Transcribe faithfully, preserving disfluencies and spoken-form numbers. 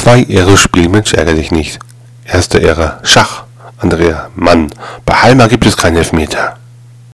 Zwei Ehre Spielmensch, ärgere dich nicht. Erste Ehre Schach. Andrea: Mann, bei Halma gibt es keinen Elfmeter.